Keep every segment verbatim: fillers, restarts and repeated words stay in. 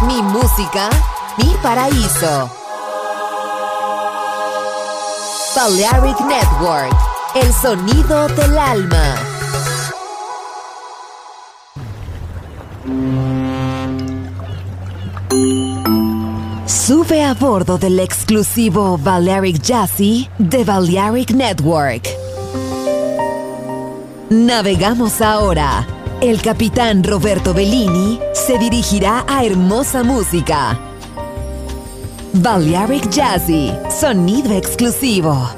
Mi música, mi paraíso. Balearic Network, el sonido del alma. Sube a bordo del exclusivo Balearic Jazzy de Balearic Network. Navegamos ahora. El capitán Roberto Bellini se dirigirá a hermosa música. Balearic Jazzy, sonido exclusivo.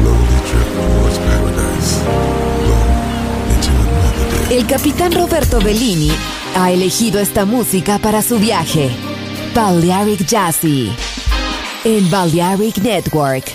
El capitán Roberto Bellini ha elegido esta música para su viaje. Balearic Jazzy en Balearic Network.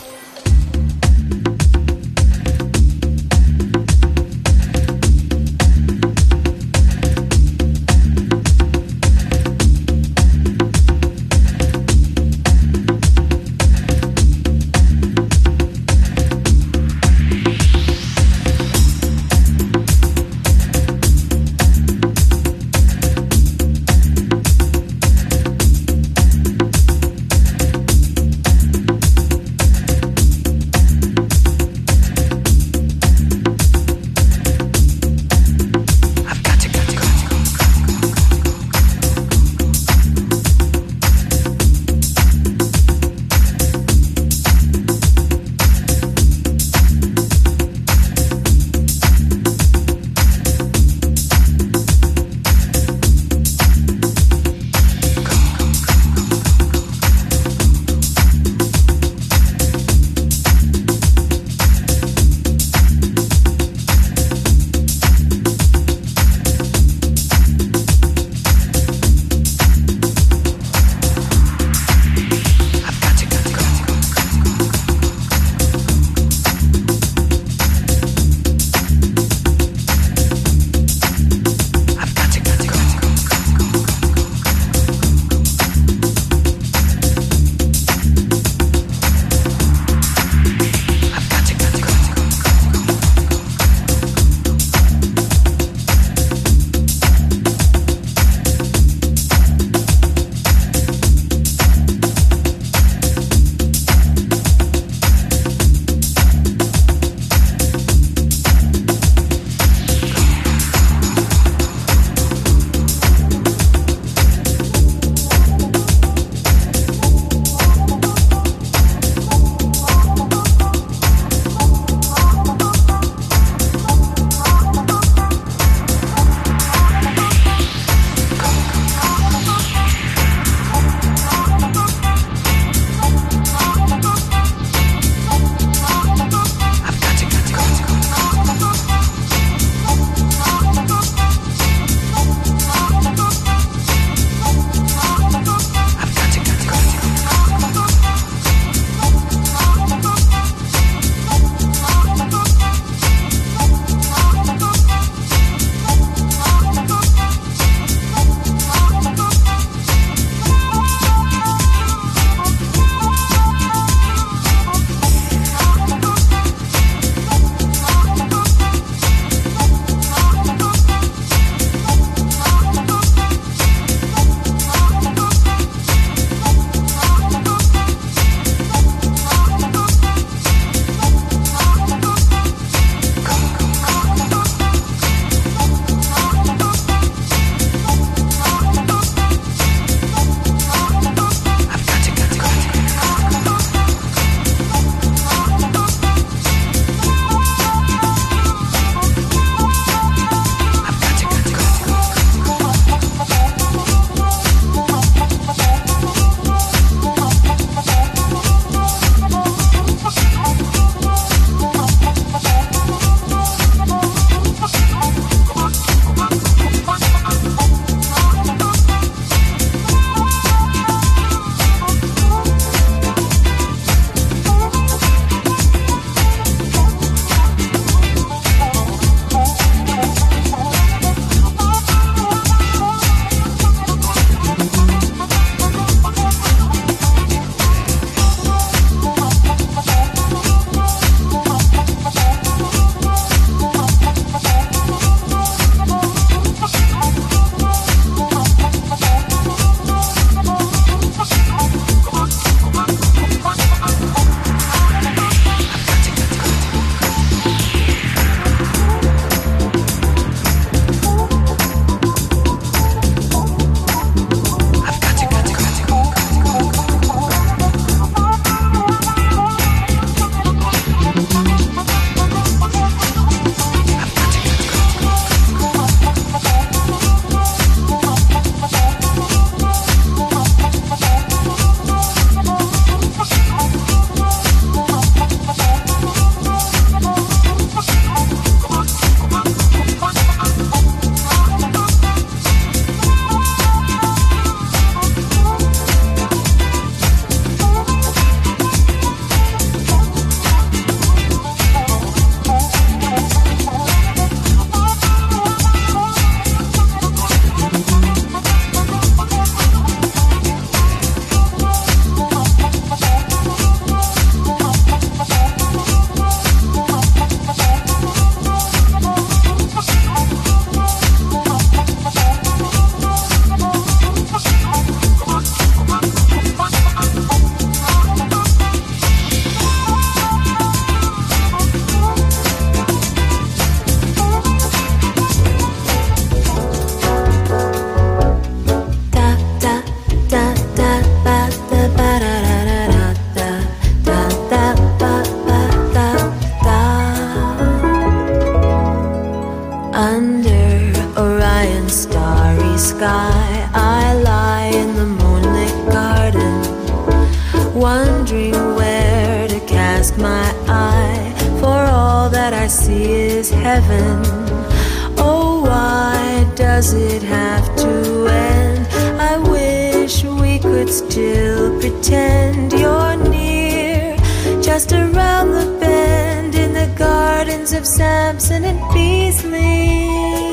close my eye, for all that I see is heaven. Oh, why does it have to end? I wish we could still pretend you're near, just around the bend in the gardens of Samson and Beasley.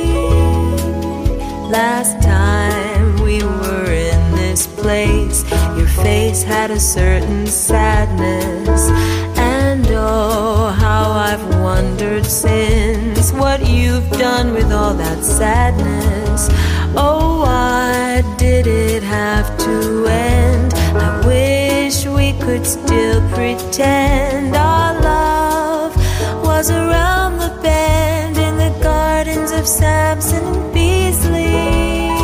Last time we were in this place, your face had a certain sadness, and oh, how I've wondered since what you've done with all that sadness. Oh, why did it have to end? I wish we could still pretend our love was around the bend in the gardens of Samson and Beasley.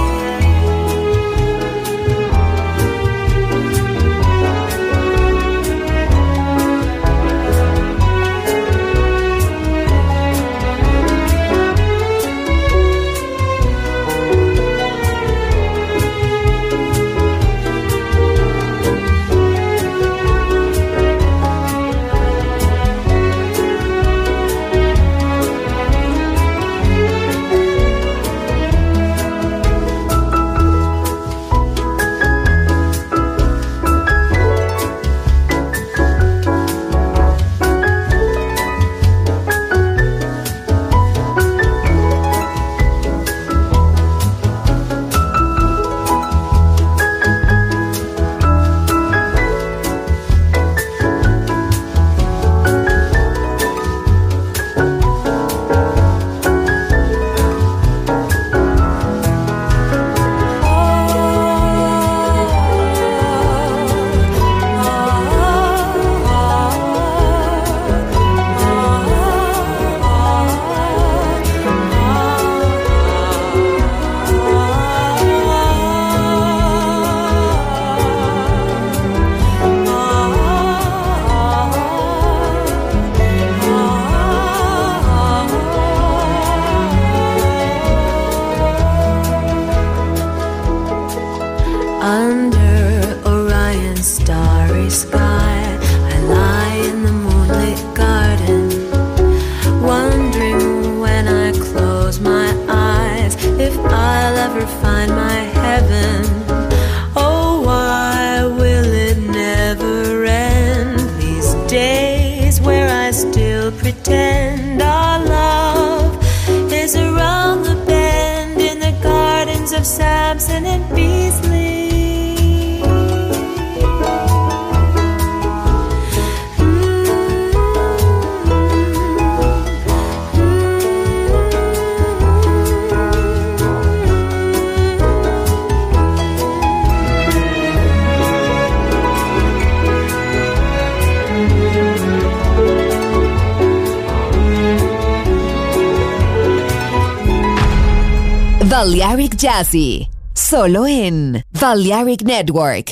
Balearic Jazzy, solo en Balearic Network.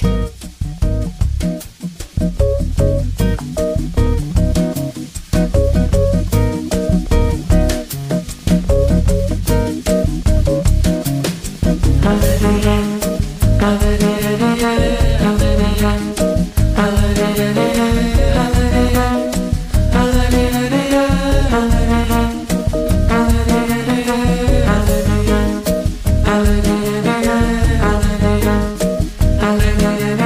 Hallelujah.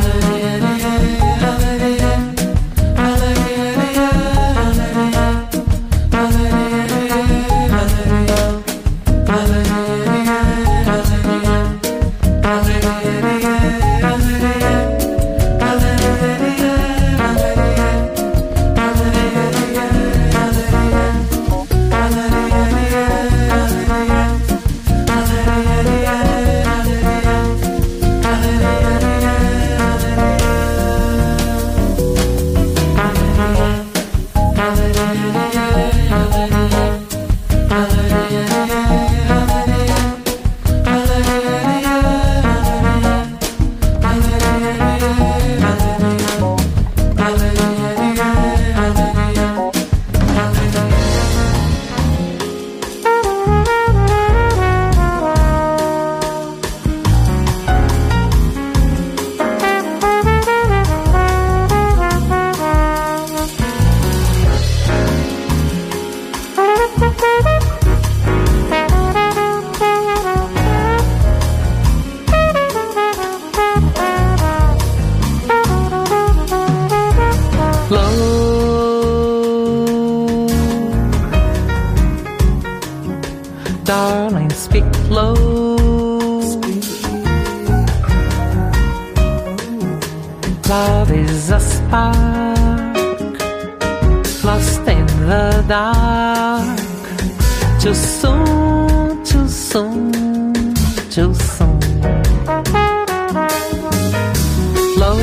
Darling, speak low. Love is a spark lost in the dark. Too soon, too soon, too soon. Low.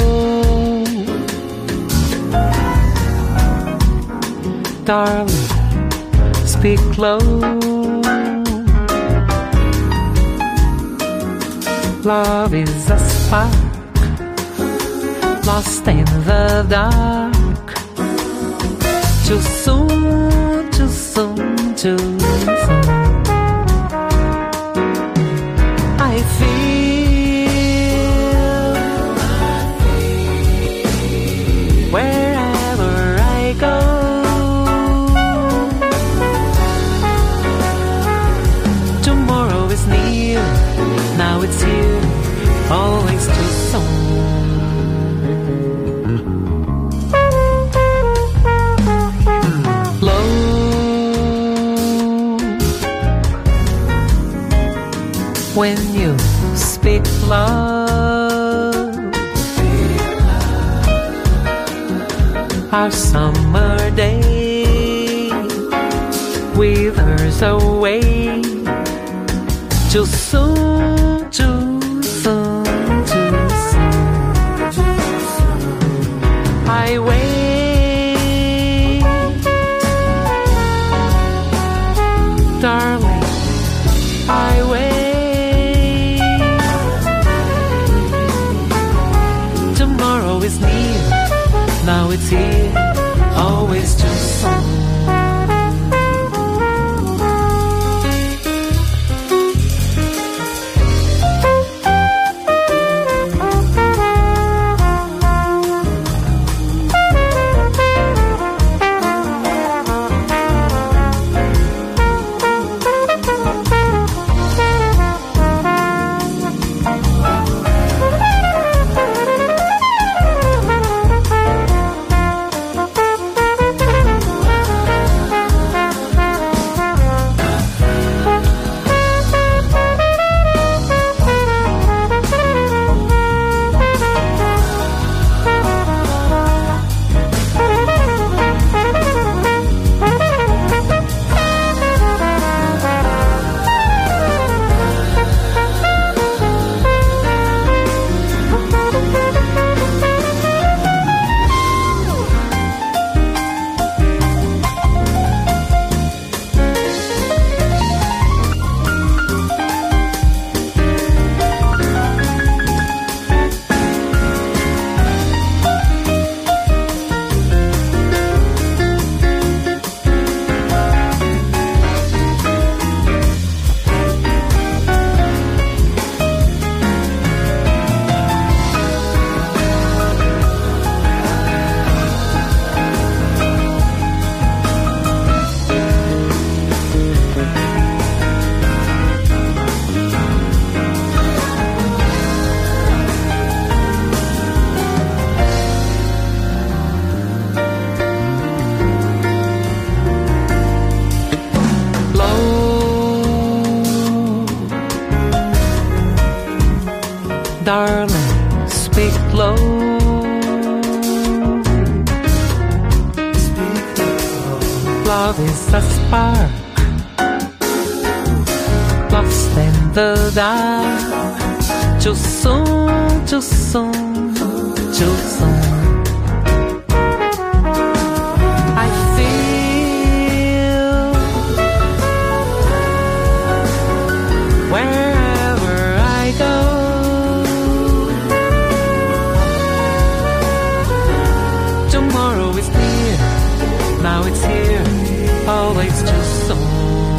Darling, speak low. Love is a spark lost in the dark. Too soon, too soon, too soon. I feel wherever I go. Tomorrow is near, now it's here, always too soon. Low. When you speak love, our summer day withers away. Too soon, too soon, too soon. I wait, darling, I wait. Tomorrow is near, now it's here, always too soon. Love is a spark, lost in the dark. Too soon, too soon, too soon. I feel wherever I go. Tomorrow is near, now it's here, always too soon.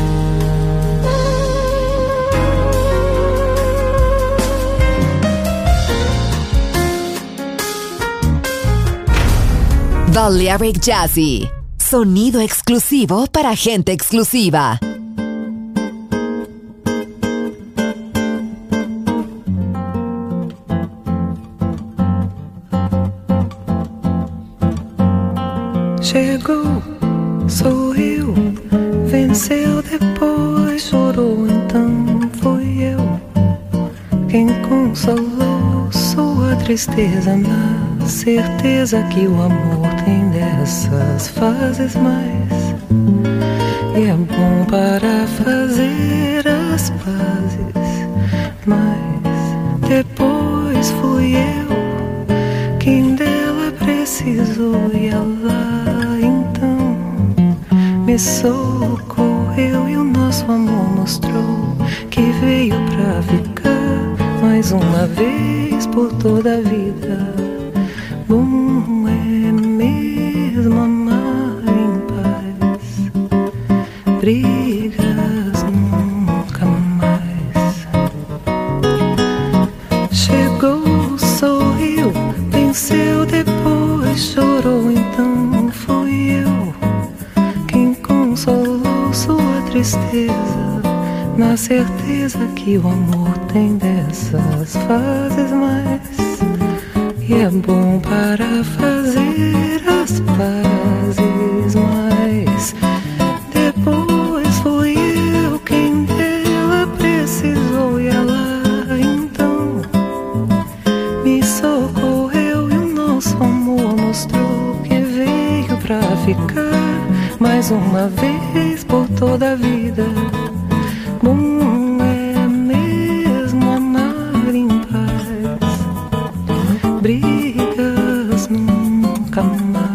Balearic Jazzy, sonido exclusivo para gente exclusiva. Chegou, sou eu, venceu depois, chorou, então fui eu quem consolou sua tristeza, na certeza que o amor tem dessas fases mais, e é bom para fazer as pazes, mas depois fui eu quem dela precisou, e ela então me socorreu, e o nosso amor mostrou que veio pra ficar mais uma vez por toda a vida. Bom é mesmo amar em paz, brigas nunca mais. Chegou, sorriu, venceu, depois chorou, então fui eu quem consolou sua tristeza, na certeza que o amor tem dessas fases mais, e é bom para fazer as pazes, mas depois fui eu quem dela precisou, e ela então me socorreu, e o nosso amor mostrou que veio pra ficar mais uma vez por toda a vida. Bom é mesmo amar em paz, brigas nunca mais.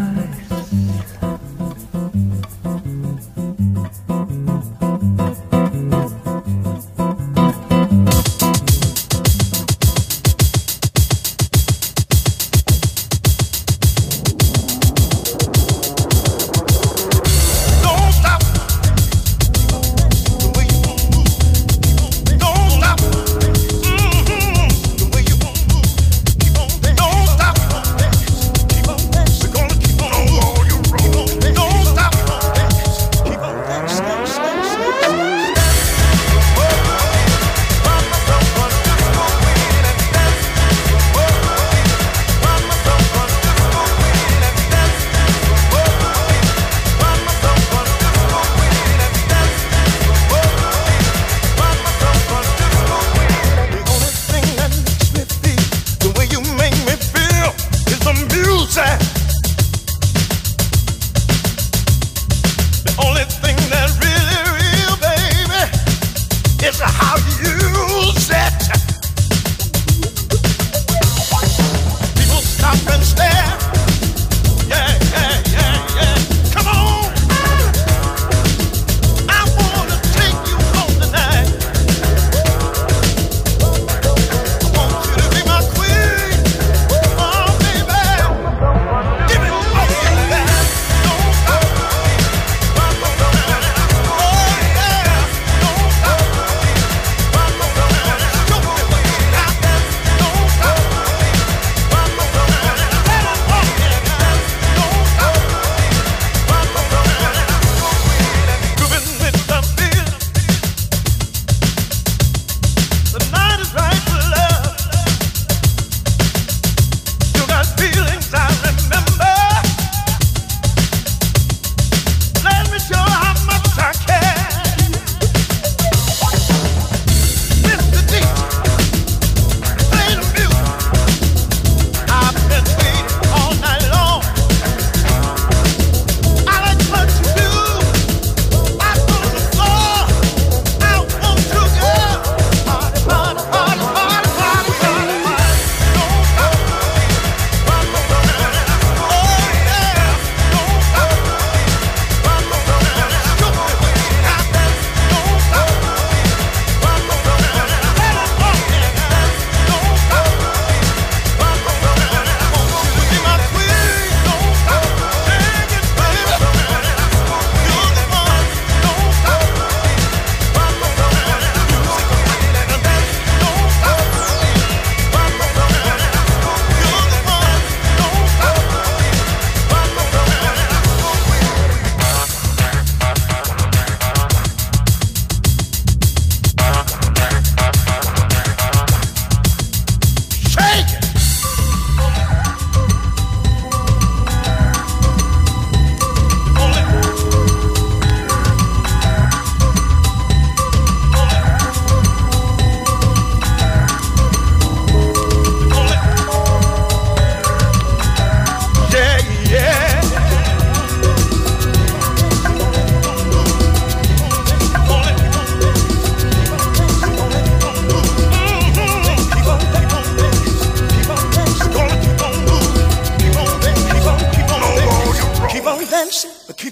Don't stop the way you move.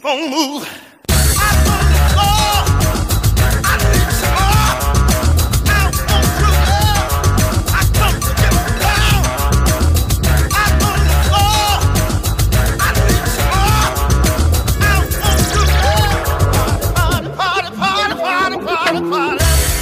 on moving. I told the floor, I need some more. I want true love, I come to get down. I told the floor, I need some more. I want true love. Party, party, party, party, party, party.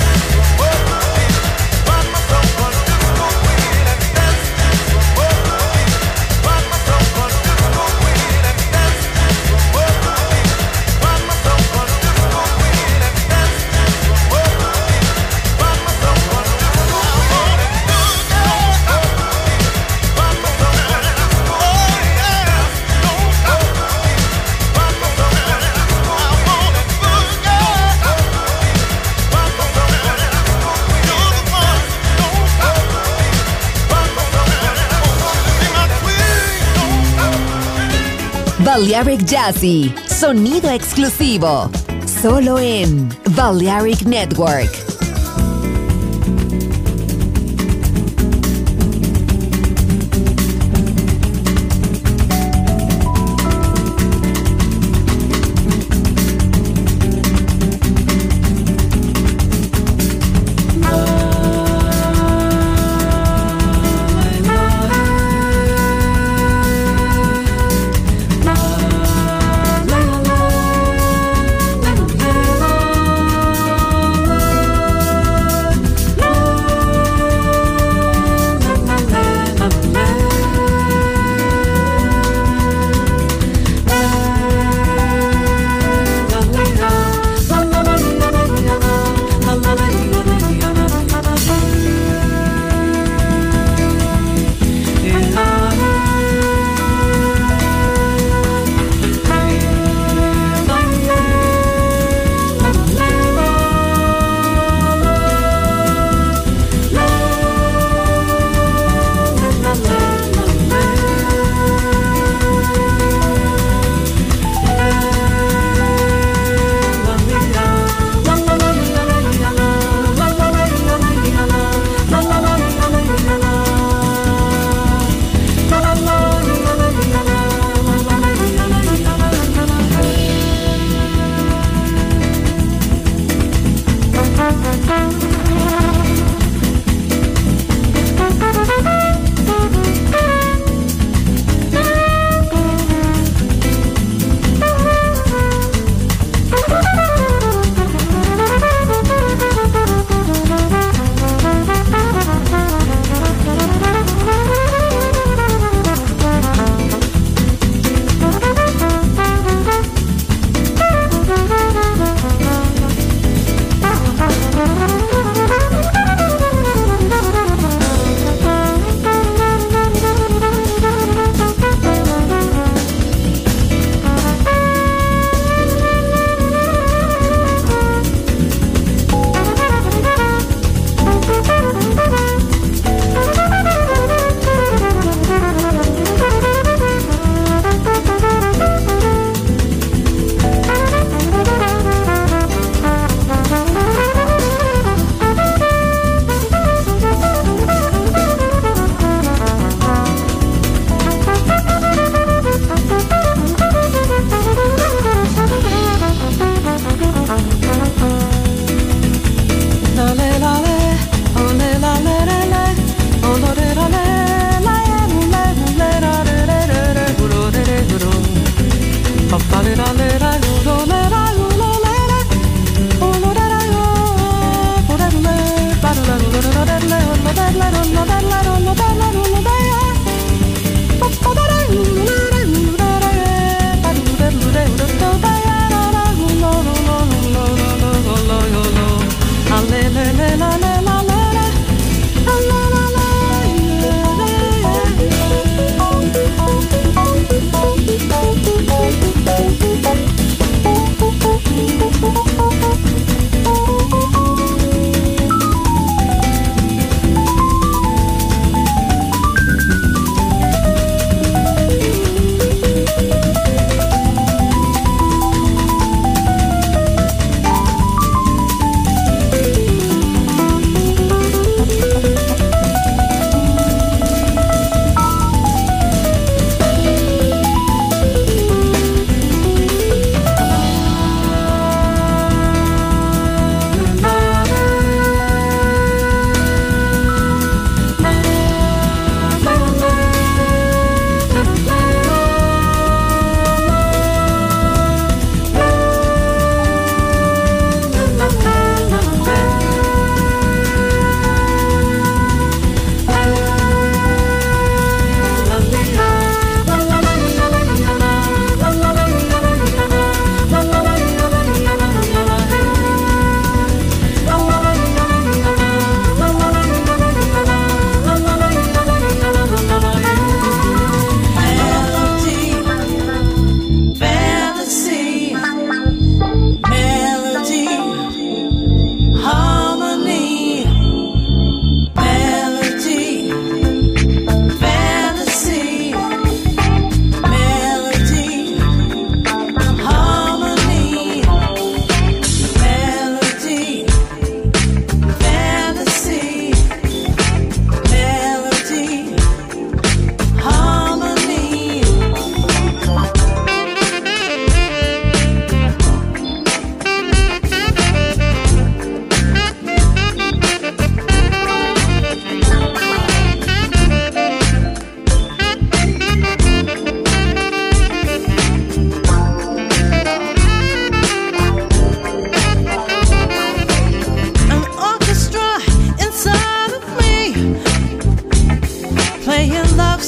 Balearic Jazzy, sonido exclusivo, solo en Balearic Network. La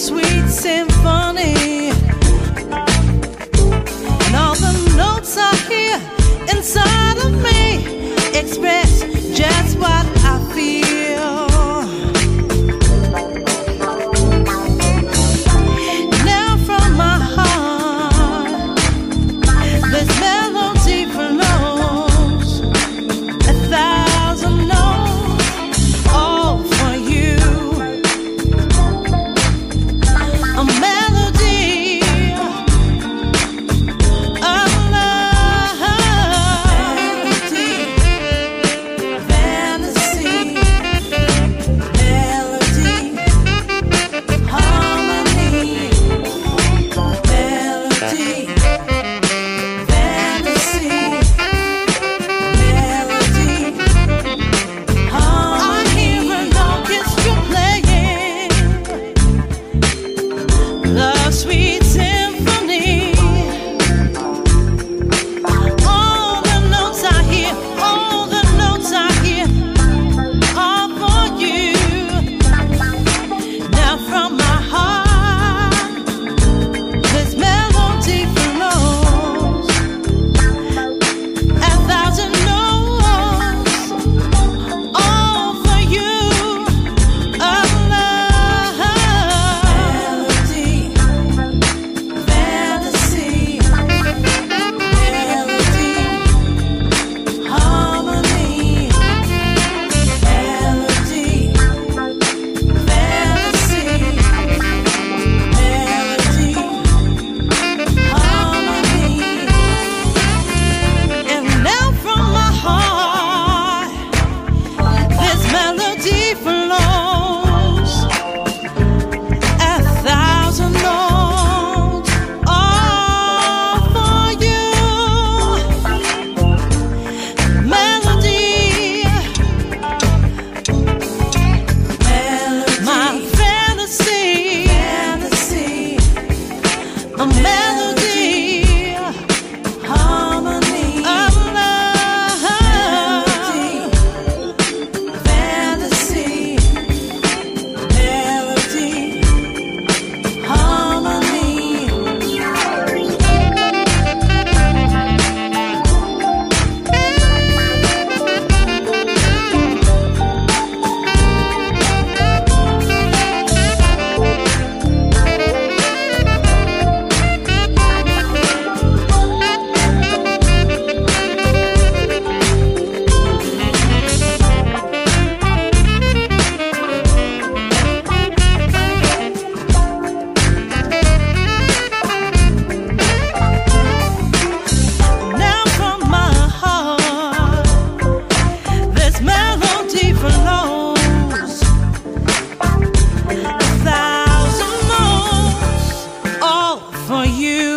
sweet symphony. And all the notes I hear inside of me express just what I feel. Now from my heart, this melody flows a thousand notes, all for you. A melody of love, fantasy, melody, harmony, melody, fantasy, melody, harmony. I hear an orchestra playing love, sweet symphony. All the notes I hear, all the notes I hear are for you. Now from my heart, this melody flows a thousand notes, all for you. Of love, melody, fantasy, melody, harmony, melody, fantasy, melody, harmony. And now from my heart, this melody flows a thousand notes, all for you. Melody, my fantasy, fantasy, a melody, harmony of love, fantasy, melody, harmony. Now from my heart, this melody flows a thousand notes, all for you.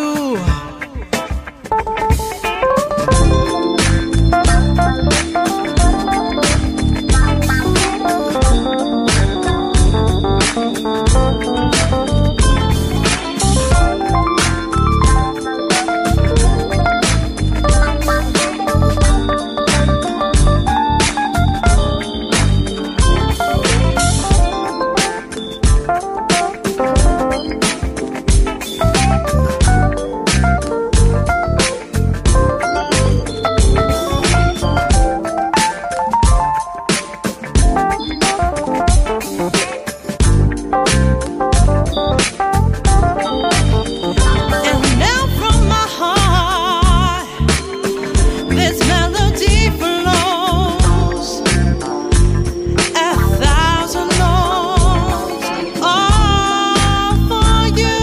And now from my heart, this melody flows a thousand notes, all for you.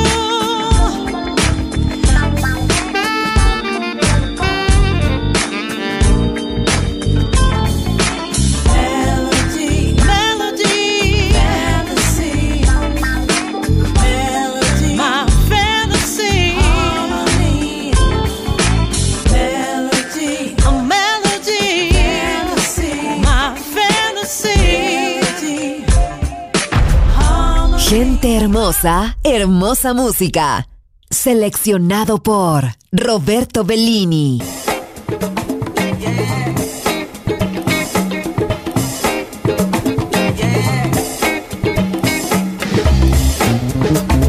Melody, melody, fantasy, melody, my fantasy, harmony, melody, a melody, fantasy, my fantasy, harmony. Gente hermosa, hermosa música. Seleccionado por Roberto Bellini. Yeah.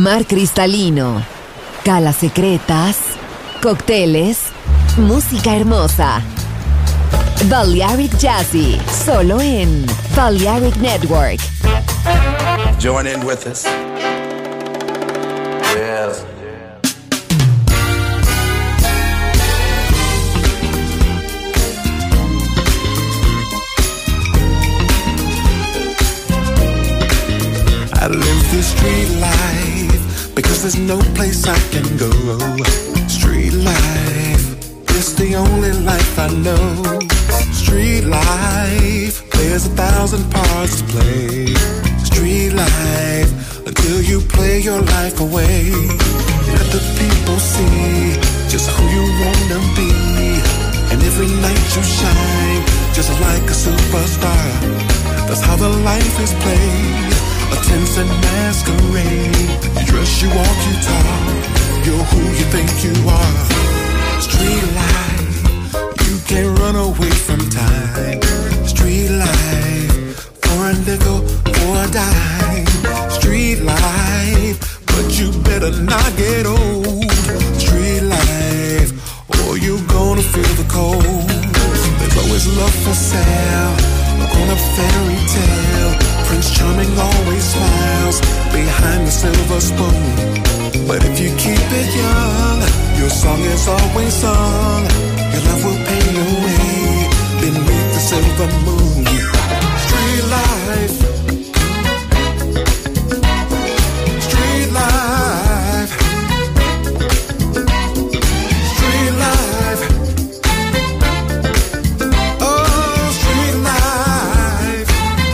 mar cristalino, calas secretas, cócteles, música hermosa. Balearic Jazzy, solo en Balearic Network. Join in with us. Yes. I live this street life because there's no place I can go. Street life, it's the only life I know. Street life, there's a thousand parts to play. Street life, until you play your life away. Let the people see just who you wanna be. And every night you shine, just like a superstar. That's how the life is played. A tense and masquerade. You dress, you walk, you talk. You're who you think you are. Street life, you can't run away from time. Street life, for a nickel, for a dime. Street life, but you better not get old. Street life, or you're gonna feel the cold. There's always love for sale, on a fairy tale. Prince Charming always smiles behind the silver spoon. But if you keep it young, your song is always sung. Your love will pay your way beneath the silver moon. Street life, street life, street life. Oh, street life.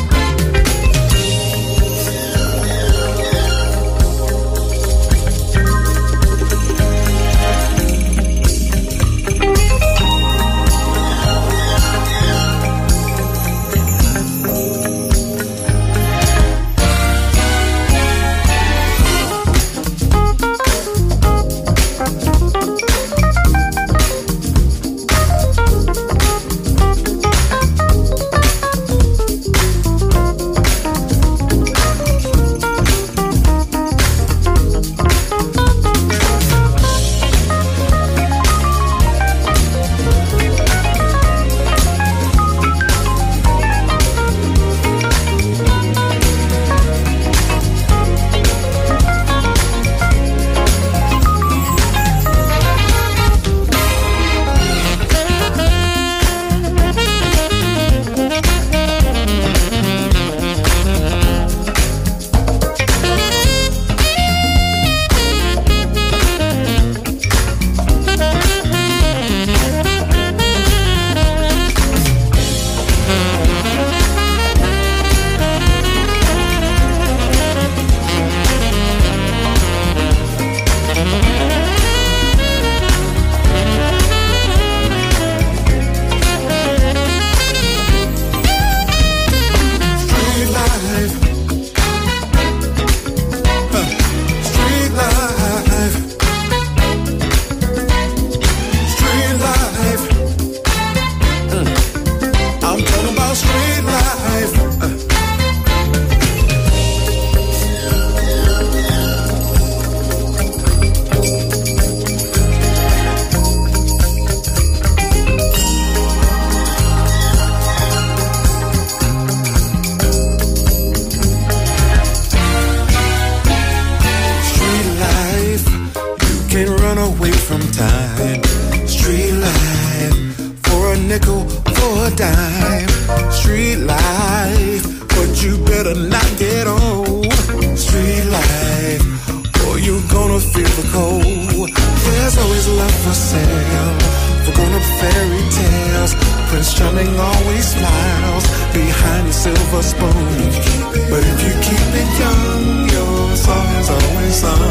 Prince Charming always smiles behind the silver spoon. But if you keep it young, your song is always sung.